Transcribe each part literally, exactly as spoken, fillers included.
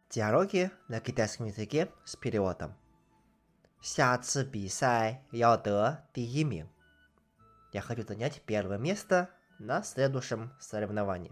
Диалоги на китайском языке с переводом. 下次比赛要得第一名. Я хочу занять первое место на следующем соревновании.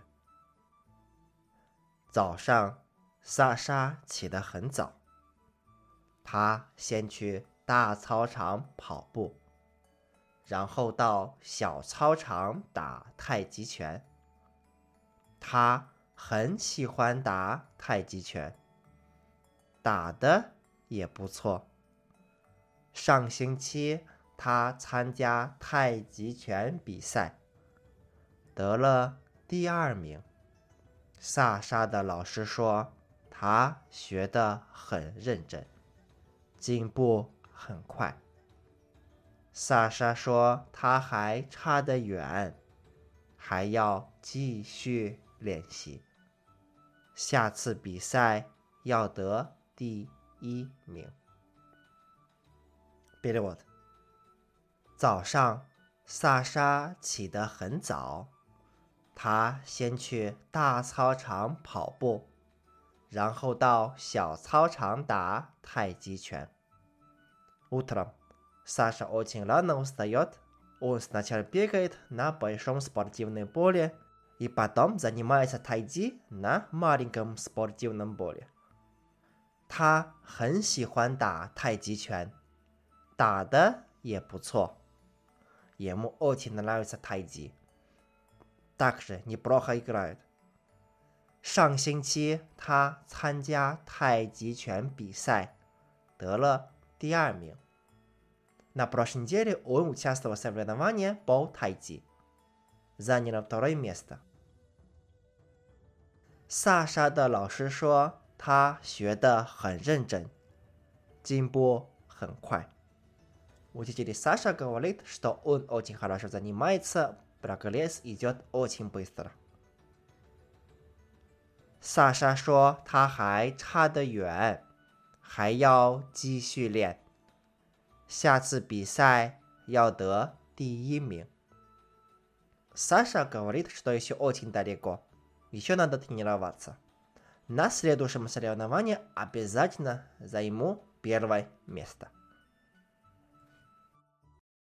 早上，萨莎起得很早。她先去大操场跑步，然后到小操场打太极拳。她很喜欢打太极拳，打得也不错。上星期她参加太极拳比赛，得了第二名。萨莎的老师说，她学得很认真，进步很快。萨莎说，她还差得远，还要继续练习。下次比赛要得第一名。Перевод. 早上，萨莎起得很早，她先去大操场跑步，然后到小操场打太极拳。Утром Саша очень рано встает, он сначала бегает на большом спортивном поле и потом занимается тайцзи на маленьком спортивном поле. 他很喜欢打太极拳，打得也不错。Ему очень нравится тайцзи. Также неплохо играет. 上星期他参加太极拳比赛，得了第二名。На прошлой неделе он участвовал в соревновании по тайцзи. Занял второе место. 萨莎的老师说，他学得很认真，进步很快。Учитель Саша говорит, что он очень хорошо занимается, прогресс идет очень быстро. 萨莎说，他还差得远，还要继续练。下次比赛要得第一名。Саша говорит, что еще очень далеко. Еще надо тренироваться. На следующем соревновании обязательно займу первое место.